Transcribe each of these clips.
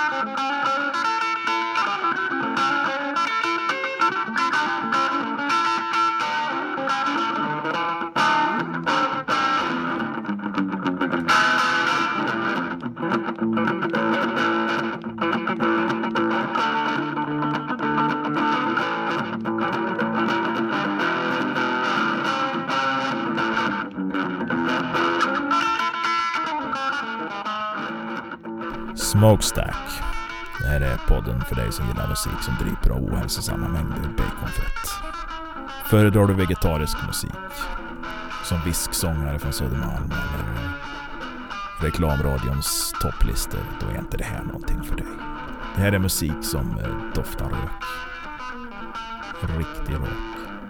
Smokestack. Det här är podden för dig som gillar musik som dryper av ohälsosamma mängder baconfett. Föredrar du vegetarisk musik som visksångare från Södermalm eller reklamradions topplistor, då är inte det här någonting för dig. Det här är musik som doftar rök. Riktig rök.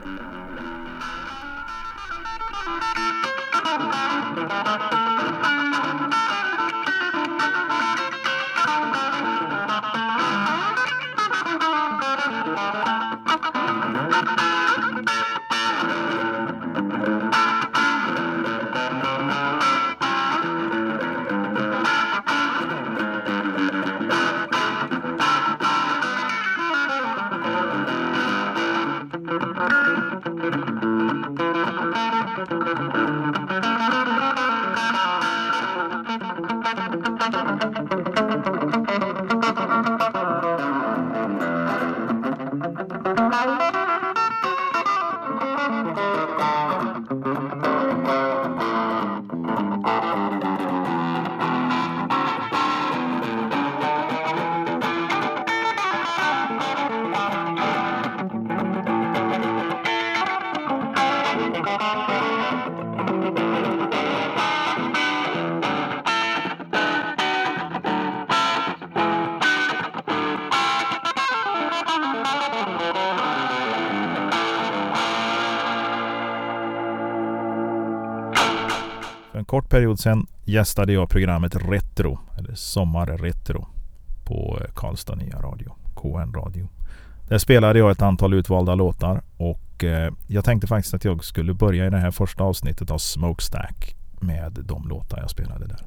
För en kort period sedan gästade jag programmet Retro, eller Sommarretro, på Karlstad Nya Radio, KN Radio. Där spelade jag ett antal utvalda låtar och jag tänkte faktiskt att jag skulle börja i det här första avsnittet av Smokestack med de låtar jag spelade där.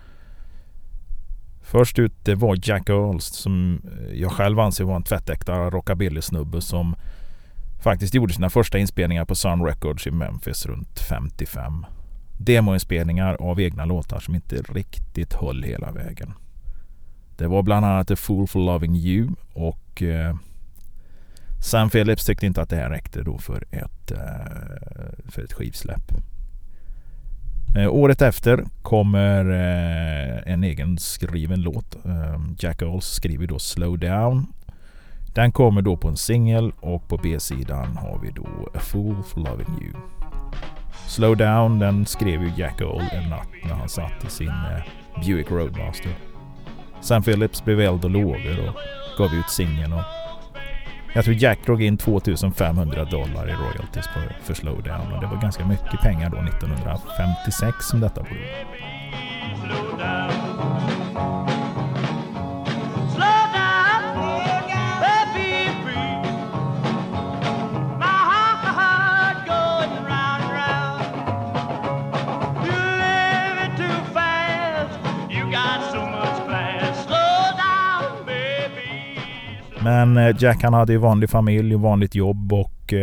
Först ut det var Jack Earls, som jag själv anser var en tvättäkta rockabilly-snubbe som faktiskt gjorde sina första inspelningar på Sun Records i Memphis runt 55. Demoinspelningar av egna låtar som inte riktigt höll hela vägen. Det var bland annat A Fool for Loving You och Sam Phillips tyckte inte att det här räckte då för ett skivsläpp. Året efter kommer en egen skriven låt. Jack Earls skriver då Slow Down. Den kommer då på en singel och på B-sidan har vi då A Fool for Loving You. Slow Down, den skrev ju Jack Earl en natt när han satt i sin Buick Roadmaster. Sam Phillips blev eld och lågor och gav ut singeln och jag tror Jack drog in $2,500 i royalties för Slow Down och det var ganska mycket pengar då 1956 som detta borde vara. Men Jack, han hade ju vanlig familj och vanligt jobb och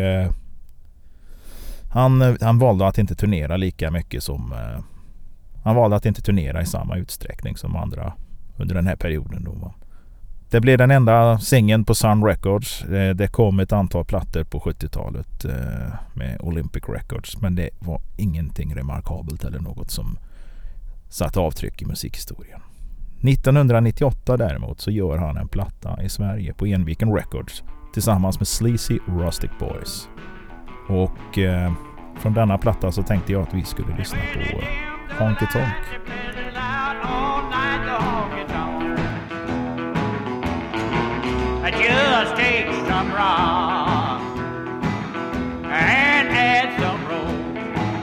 han valde att inte turnera lika mycket som han valde att inte turnera i samma utsträckning som andra under den här perioden då. Det blev den enda singeln på Sun Records. Det kom ett antal plattor på 70-talet med Olympic Records, men det var ingenting remarkabelt eller något som satte avtryck i musikhistorien. 1998 däremot så gör han en platta i Sverige på Enviken Records tillsammans med Sleazy Rustic Boys. Och från denna platta så tänkte jag att vi skulle lyssna på Honky Tonk. Just take some rock and add some roll,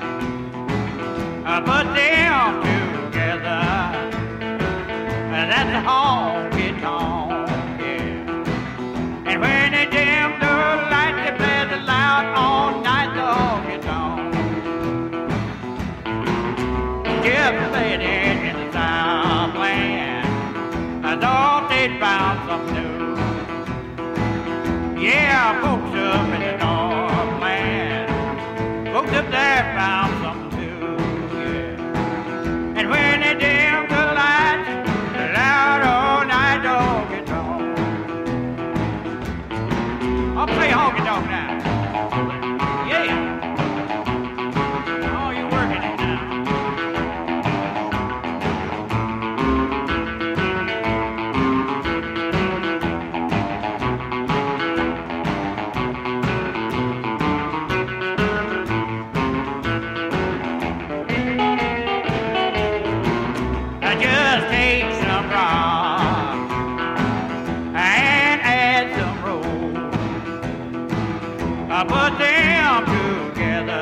put them together, and that's a honky tonk, yeah. And when they dim the light, they play the loud all night, the honky tonk. Just play it in the Southland, don't they'd found something new. Yeah, folks up in the Northland, folks up there found something too, yeah. And when they dim the lights, the loud all night dog gets on. I'll play honky tonk now. Yeah. Oh, you're working it now. Just take some rock and add some roll. Put them together.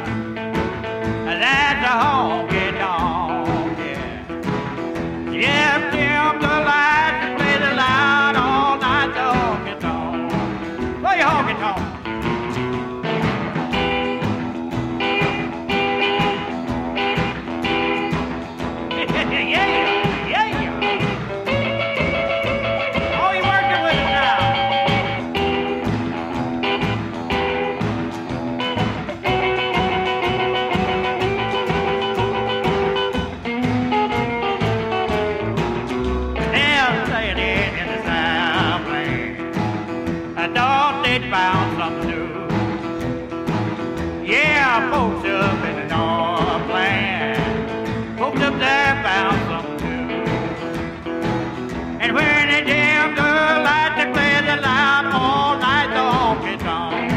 That's a honky tonk, yeah. Just dim the lights and play the loud all night the honky tonk. Play honky tonk. Found something new. Yeah, folks up in the Northland, folks up there found something new. And when they dim the lights, they play the loud all night the honky tonk.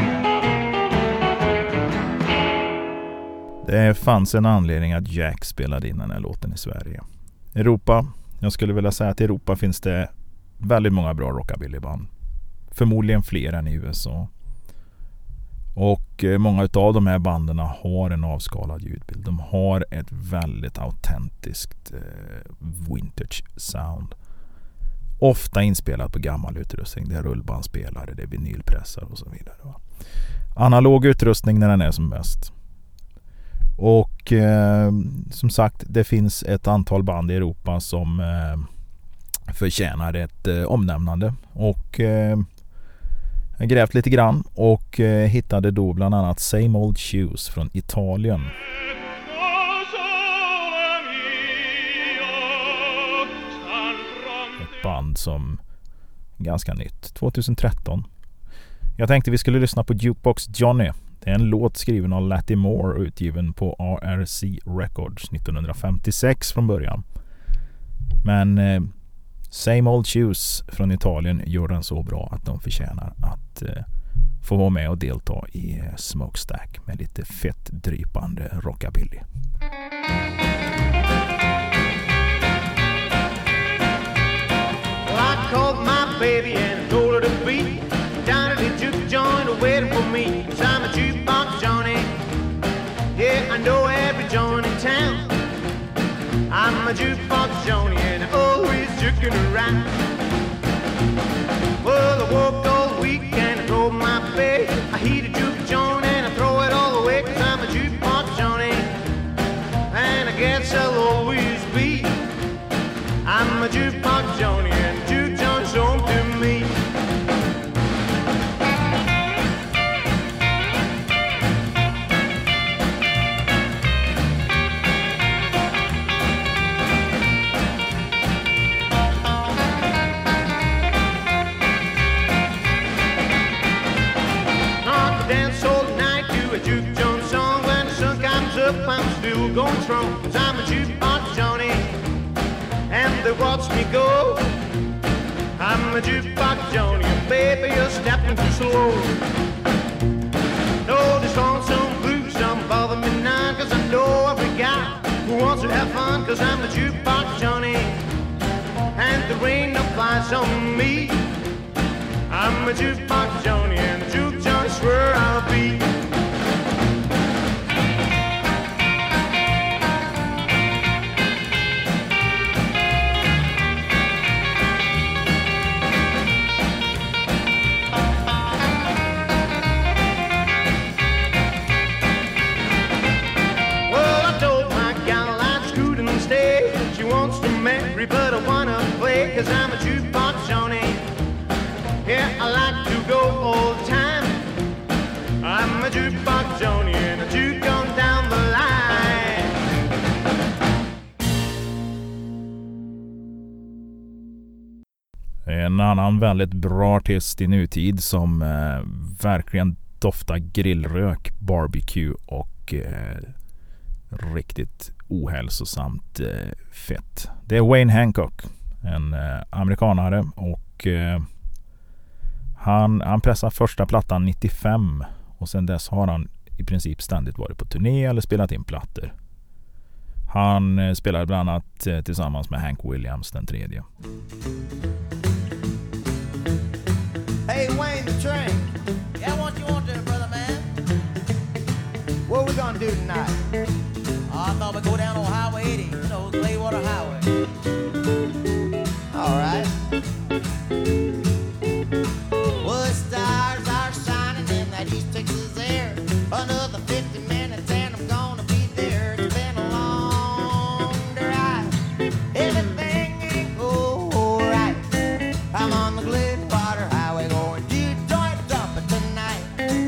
Det fanns en anledning att Jack spelade in den här låten i Sverige. Europa, jag skulle vilja säga att i Europa finns det väldigt många bra rockabillyband. Förmodligen fler än i USA. Och många av de här banden har en avskalad ljudbild. De har ett väldigt autentiskt vintage sound. Ofta inspelat på gammal utrustning. Det är rullbandspelare, det är vinylpressar och så vidare. Va? Analog utrustning när den är som bäst. Och som sagt, det finns ett antal band i Europa som förtjänar ett omnämnande. Och jag grävt lite grann och hittade då bland annat Same Old Shoes från Italien. Ett band som är ganska nytt, 2013. Jag tänkte vi skulle lyssna på Jukebox Johnny. Det är en låt skriven av Lattie Moore och utgiven på RRC Records 1956 från början. Men Same Old Shoes från Italien gör den så bra att de förtjänar att få vara med och delta i Smokestack med lite fett drypande rockabilly. Well, I called my baby and told her to be down at the juke joint waiting for me. 'Cause I'm a jukebox Johnny. Yeah, I know every joint in town. I'm a jukebox Johnny and I always juking around. Well, I worked all week and I drove my pay. I heat a juke joint and I throw it all away 'cause I'm a jukebox Johnny. And I guess I'll always be. I'm a jukebox Johnny and juke joint's home to me. I'm still going strong 'cause I'm a jukebox Johnny and they watch me go. I'm a jukebox Johnny and baby you're stepping too slow. No, this lonesome blues don't bother me none 'cause I know every guy who wants to have fun 'cause I'm a jukebox Johnny and there ain't no flies on me. I'm a jukebox Johnny and the juke Johnny's where I'll be. But I wanna play 'cause I'm a jukebox Johnny. Yeah, I like to go all the time. I'm a jukebox Johnny and a juke on down the line. En annan väldigt bra artist i nutid som verkligen doftar grillrök, barbecue och riktigt ohälsosamt fett. Det är Wayne Hancock, en amerikanare, och han pressade första plattan 95 och sen dess har han i princip ständigt varit på turné eller spelat in plattor. Han spelade bland annat tillsammans med Hank Williams den tredje. Hey Wayne the Train. Yeah, what you want there, brother man? What we gonna do tonight? I thought we'd go down on Highway 80, you know, Claywater Highway. All right. Well, the stars are shining in that East Texas air. Another 50 minutes and I'm gonna be there. It's been a long drive. Everything ain't go right. I'm on the Claywater Highway going Detroit jumping tonight.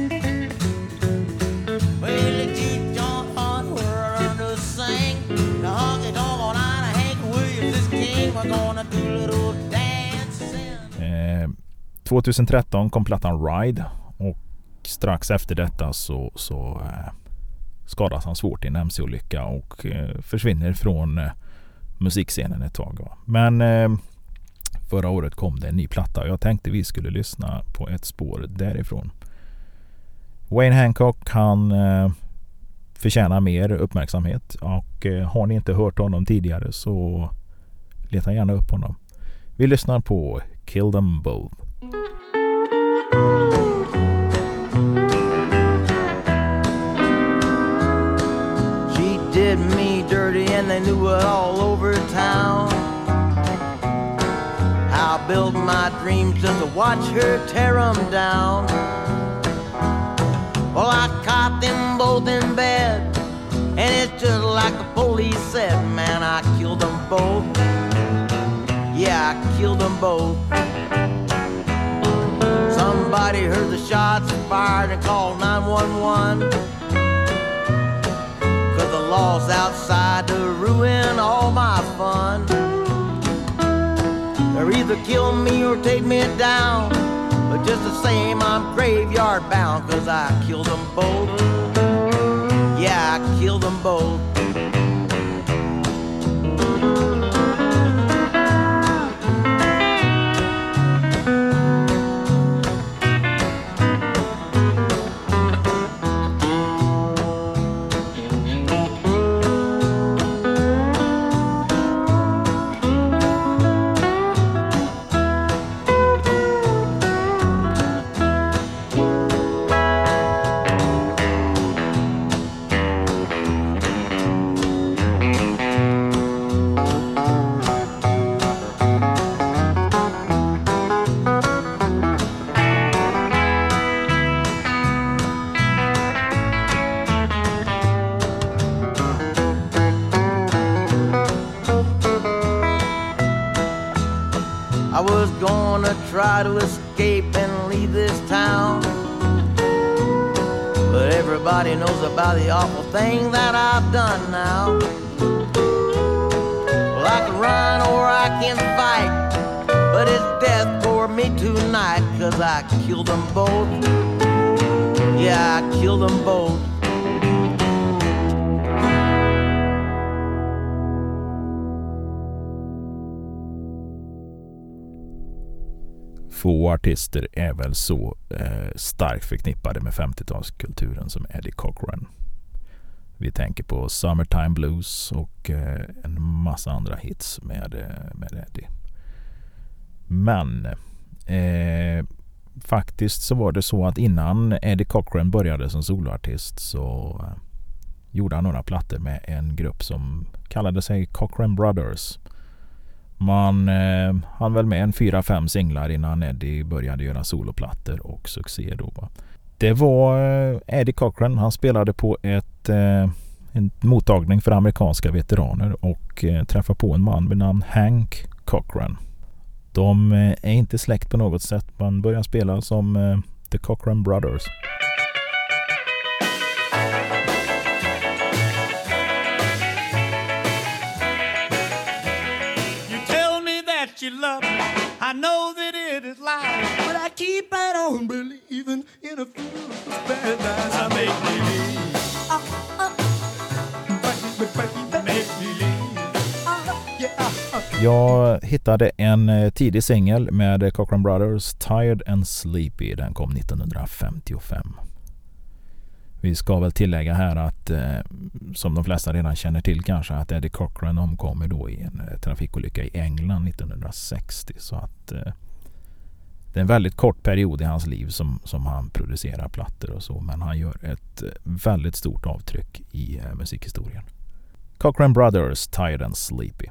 Well, the Detroit on where I to sing. The honky tonk on Hank Williams is king. We're gonna do a little dancing. 2013 kom plattan Ride och strax efter detta så skadas han svårt i en MC-olycka och försvinner från musikscenen ett tag. Men förra året kom det en ny platta och jag tänkte vi skulle lyssna på ett spår därifrån. Wayne Hancock, han förtjänar mer uppmärksamhet och har ni inte hört honom tidigare så leta gärna upp honom. Vi lyssnar på Kill Them Both. She did me dirty and they knew it all over town. I built my dreams just to watch her tear them down. Well, I caught them both in bed, and it's just like the police said, man, I killed them both. Yeah, I killed them both. Somebody heard the shots fired and called 911. 'Cause the law's outside to ruin all my fun. They'll either kill me or take me down, but just the same I'm graveyard bound. 'Cause I killed them both. Yeah, I killed them both. I was gonna try to escape and leave this town, but everybody knows about the awful thing that I've done now. Well, I can run or I can fight, but it's death for me tonight. 'Cause I killed them both. Yeah, I killed them both. Få artister är väl så starkt förknippade med 50-talskulturen som Eddie Cochran. Vi tänker på Summertime Blues och en massa andra hits med Eddie. Men faktiskt så var det så att innan Eddie Cochran började som soloartist så gjorde han några plattor med en grupp som kallade sig Cochran Brothers. Man hann väl med en 4-5 singlar innan Eddie började göra soloplattor och succé då. Det var Eddie Cochran, han spelade på en mottagning för amerikanska veteraner och träffade på en man med namn Hank Cochran. De är inte släkt på något sätt. Man börjar spela som The Cochran Brothers. You tell me that you love me. I know that it is lies, but I keep right on believing in a fool's paradise. I make believe. Make believe. Jag hittade en tidig singel med Cochran Brothers, Tired and Sleepy. Den kom 1955. Vi ska väl tillägga här att som de flesta redan känner till kanske, att Eddie Cochran omkommer då i en trafikolycka i England 1960. Så att det är en väldigt kort period i hans liv som han producerar plattor och så. Men han gör ett väldigt stort avtryck i musikhistorien. Cochran Brothers, Tired and Sleepy.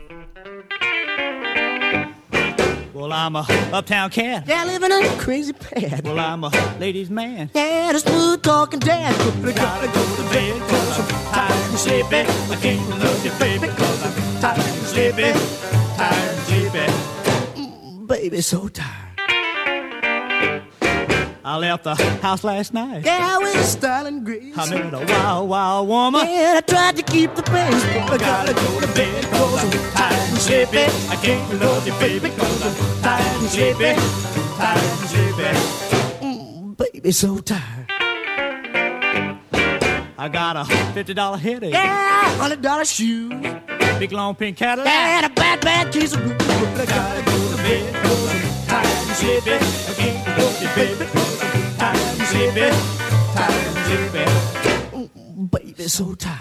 Well, I'm a uptown cat. Yeah, living in a crazy pad. Well, I'm a ladies' man. Yeah, the smooth talking dad. I gotta go to bed 'cause I'm tired and sleepy. I can't love you, baby, 'cause I'm tired and sleepy. Tired and sleepy. Baby, so tired. I left the house last night. Yeah, with style and grace. I met a wild, wild woman. Yeah, I tried to keep the pace, but I gotta go to bed 'cause I'm tired and sleepy. I can't love you, baby, 'cause I'm tired and sleepy. Tired and sleepy. baby, so tired. I got a $50 headache. Yeah, $100 shoes. Big long pink Cadillac. And a bad, bad case of blues. But I gotta go to bed 'cause I'm tired and sleepy. I can't love you, baby, 'cause I'm tired and sleepy. Tired and sleepy. Baby, so tired.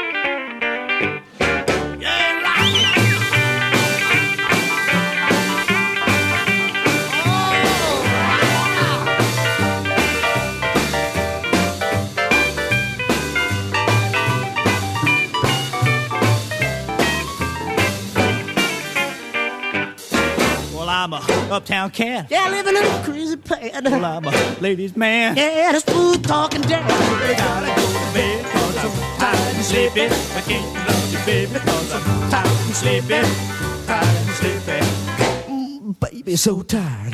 I'm a uptown cat. Yeah, living in a crazy pad. Well, I'm a ladies' man. Yeah, the smooth talking dad. I gotta go to bed 'cause I'm tired and sleepy. I can't love you, baby, 'cause I'm tired and sleepy. Tired and sleepy. Baby, so tired.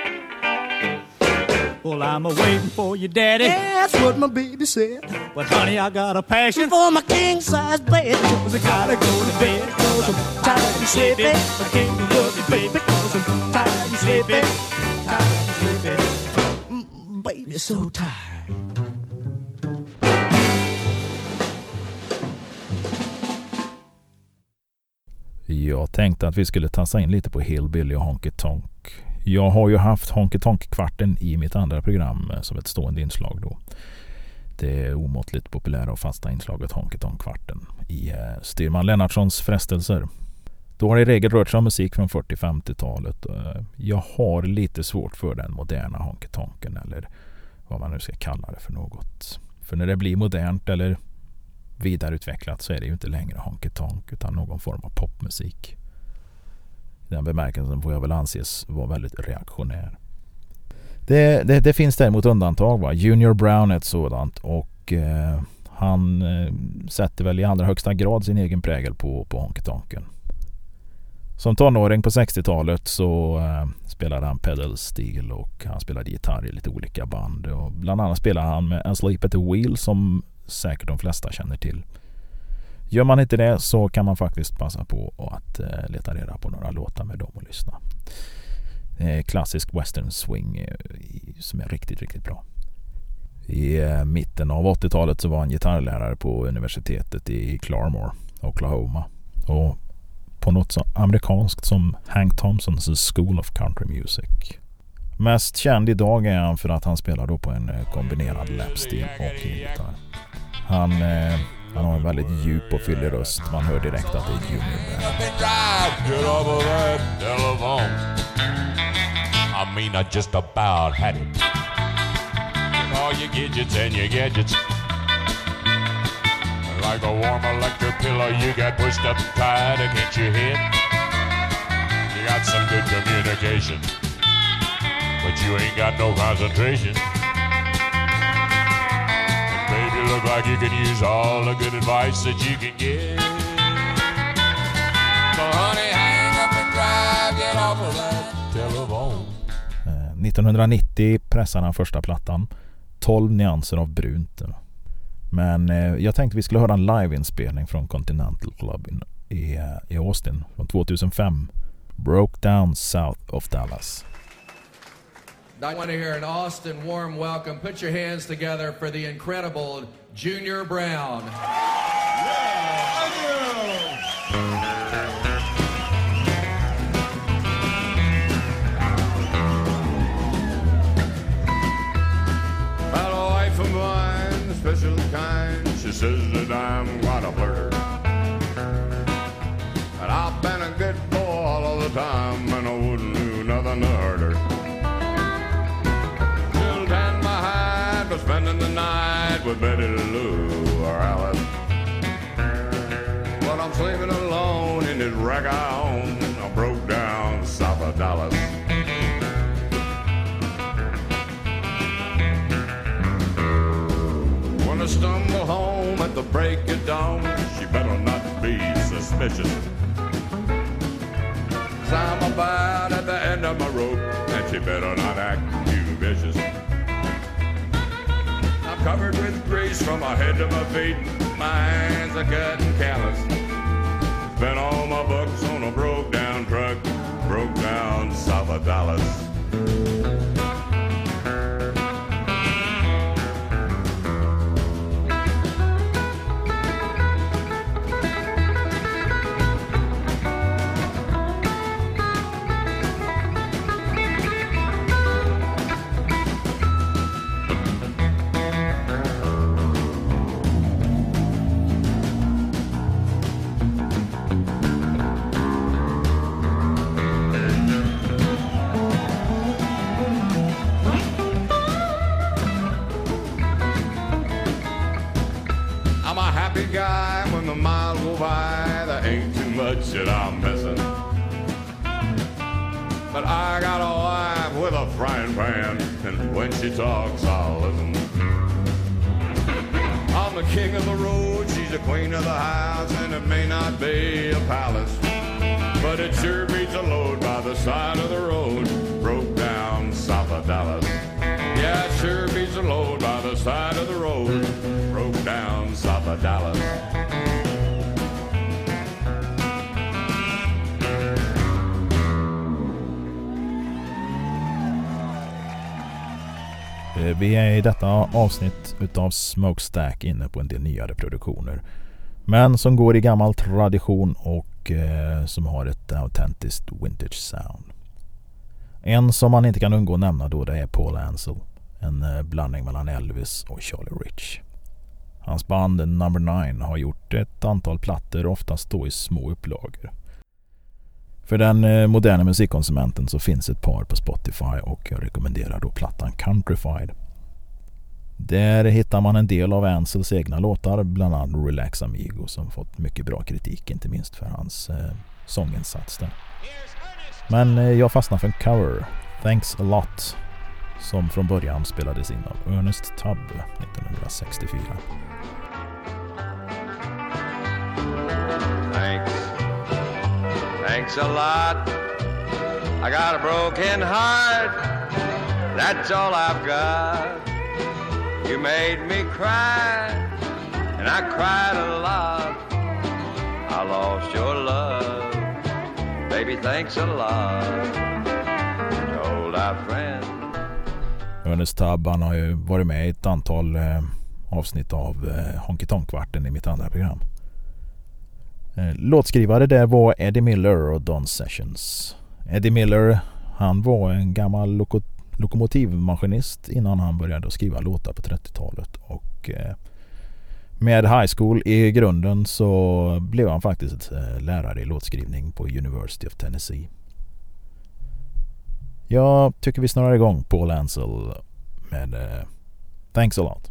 Well, I'm a-waiting for you, daddy. Yeah, that's what my baby said. But honey, I got a passion For my king-size bed. 'cause I gotta go to bed 'cause I'm tired and sleepy. I can't love you, baby, 'cause I'm tired and sleepy. Tired and sleepy. Baby, so tired. Jag tänkte att vi skulle tassa in lite på Hillbilly och Honky Tonk. Jag har ju haft Honky Tonk-kvarten i mitt andra program som ett stående inslag då. Det omåttligt populära och fasta inslaget Honky Tonk-kvarten i Styrman Lennartssons frestelser. Då har det i regel rört sig om musik från 40-50-talet. Jag har lite svårt för den moderna Honky Tonken, eller vad man nu ska kalla det för något. För när det blir modernt eller vidareutvecklat så är det ju inte längre Honky Tonk utan någon form av popmusik. I den bemärkelsen får jag väl anses vara väldigt reaktionär. Det finns däremot undantag, va? Junior Brown är ett sådant, och han sätter väl i allra högsta grad sin egen prägel på Honky Tonken. Som tonåring på 60-talet så spelade han pedal steel och han spelade gitarr i lite olika band. Och bland annat spelade han med Asleep at the Wheel som säkert de flesta känner till. Gör man inte det så kan man faktiskt passa på att leta reda på några låtar med dem och lyssna. Klassisk western swing som är riktigt, riktigt bra. I mitten av 80-talet så var han gitarrlärare på universitetet i Claremore, Oklahoma. Och på något så amerikanskt som Hank Thompsons School of Country Music. Mest känd idag är han för att han spelar då på en kombinerad lapsteel och gitarr. Han har en väldigt djup och fyllig röst. Man hör direkt att det är Junior Brown. I mean, I just about had it. All your gadgets and your gadgets. Like a warm electric pillow you got pushed up tight against your head. You got some good communication, but you ain't got no concentration. And baby, look like you can use all the good advice that you can get. So honey, hang up and drive, get off of that 1990 pressade han första plattan, 12 nyanser av brunt. Men jag tänkte vi skulle höra en liveinspelning från Continental Club i Austin från 2005. Broke Down South of Dallas. I want to hear an Austin warm welcome. Put your hands together for the incredible Junior Brown. Had a wife of mine, special kind. She says that I'm quite a flirter. And I've been a good boy all of the time, and I wouldn't do nothing to hurt her. Still tan my hide for spending the night with Betty Lou or Alice. But I'm sleeping alone in this wreck I own. I broke down south of Dallas. When I stumble home at the break of dawn, she better not be suspicious. 'Cause I'm about at the end of my rope, and she better not act too vicious. I'm covered with grease from my head to my feet. My hands are cut and callous. Spent all my bucks on a broke down truck, broke down south of Dallas. Guy, when the miles go by, there ain't too much that I'm missing. But I got a wife with a frying pan, and when she talks, I'll listen. I'm the king of the road, she's the queen of the house, and it may not be a palace, but it sure beats a load by the side of the road, broke down south of Dallas. Yeah, it sure beats a load by the side of the road, broke down south of Dallas. Vi är i detta avsnitt utav Smokestack inne på en del nyare produktioner, men som går i gammal tradition och som har ett autentiskt vintage sound. En som man inte kan undgå nämna då, det är Paul Ansel, en blandning mellan Elvis och Charlie Rich. Hans band Number 9 har gjort ett antal plattor, oftast då i små upplagor. För den moderna musikkonsumenten så finns ett par på Spotify, och jag rekommenderar då plattan Countrified. Där hittar man en del av Ansels egna låtar, bland annat Relax Amigo, som fått mycket bra kritik, inte minst för hans sånginsats där. Men jag fastnar för en cover, Thanks a Lot, som från början spelades in av Ernest Tubb 1964. Thanks a lot. I got a broken heart. That's all I've got. You made me cry, and I cried a lot. I lost your love. Baby, thanks a lot. Told our friend. Ernest Tubb, han har ju varit med i ett antal avsnitt av Honky Tonk-kvarten i mitt andra program. Låtskrivare där var Eddie Miller och Don Sessions. Eddie Miller, han var en gammal lokomotivmaskinist innan han började skriva låtar på 30-talet, och med high school i grunden så blev han faktiskt lärare i låtskrivning på University of Tennessee. Jag tycker vi snurrar igång Paul Ansel med Thanks a Lot.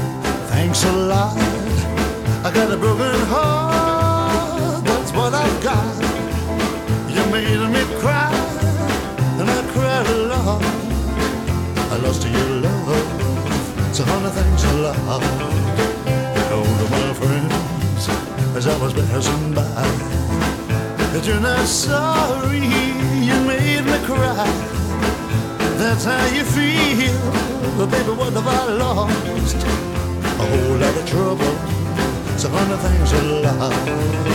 Thanks a lot. I got a broken heart. That's what I've got. lost to your love. It's 100 things I love. All of my friends, as I was passing by, that you're not sorry you made me cry. That's how you feel, but baby, what have I lost? A whole lot of trouble. It's 100 things I love.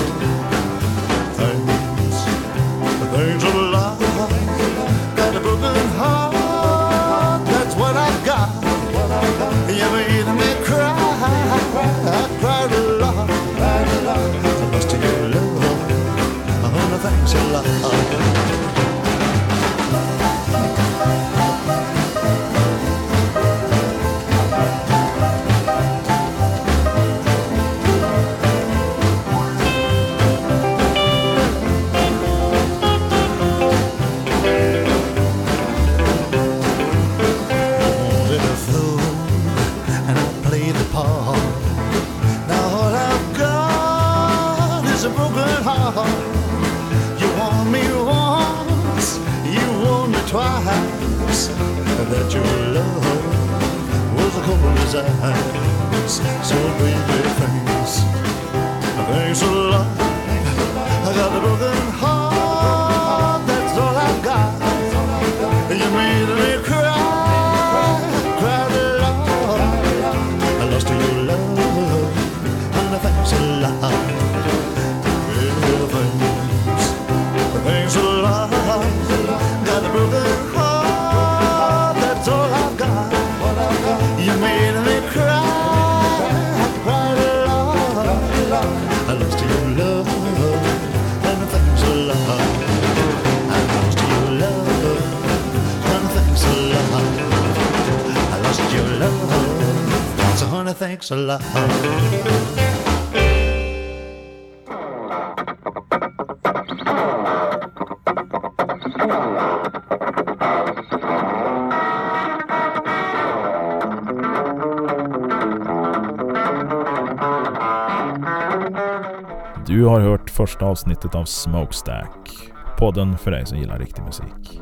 Things I love. Got a broken heart, that's what I've got. You made me cry, I cried a lot. I lost to your love, 100 things I love. Twice that your love was a cold as ice, so baby thanks a lot. I got a broken heart, that's all I got. You made me cry, cried a lot. I lost to your love, and thanks a lot. Thanks a lot. Got a broken heart, that's all I've got. You made me cry, I cried a lot. I lost to your love, and thanks a lot. I lost to your love, and thanks a lot. I lost your love, so honey, thanks a lot. Du har hört första avsnittet av Smokestack, podden för dig som gillar riktig musik.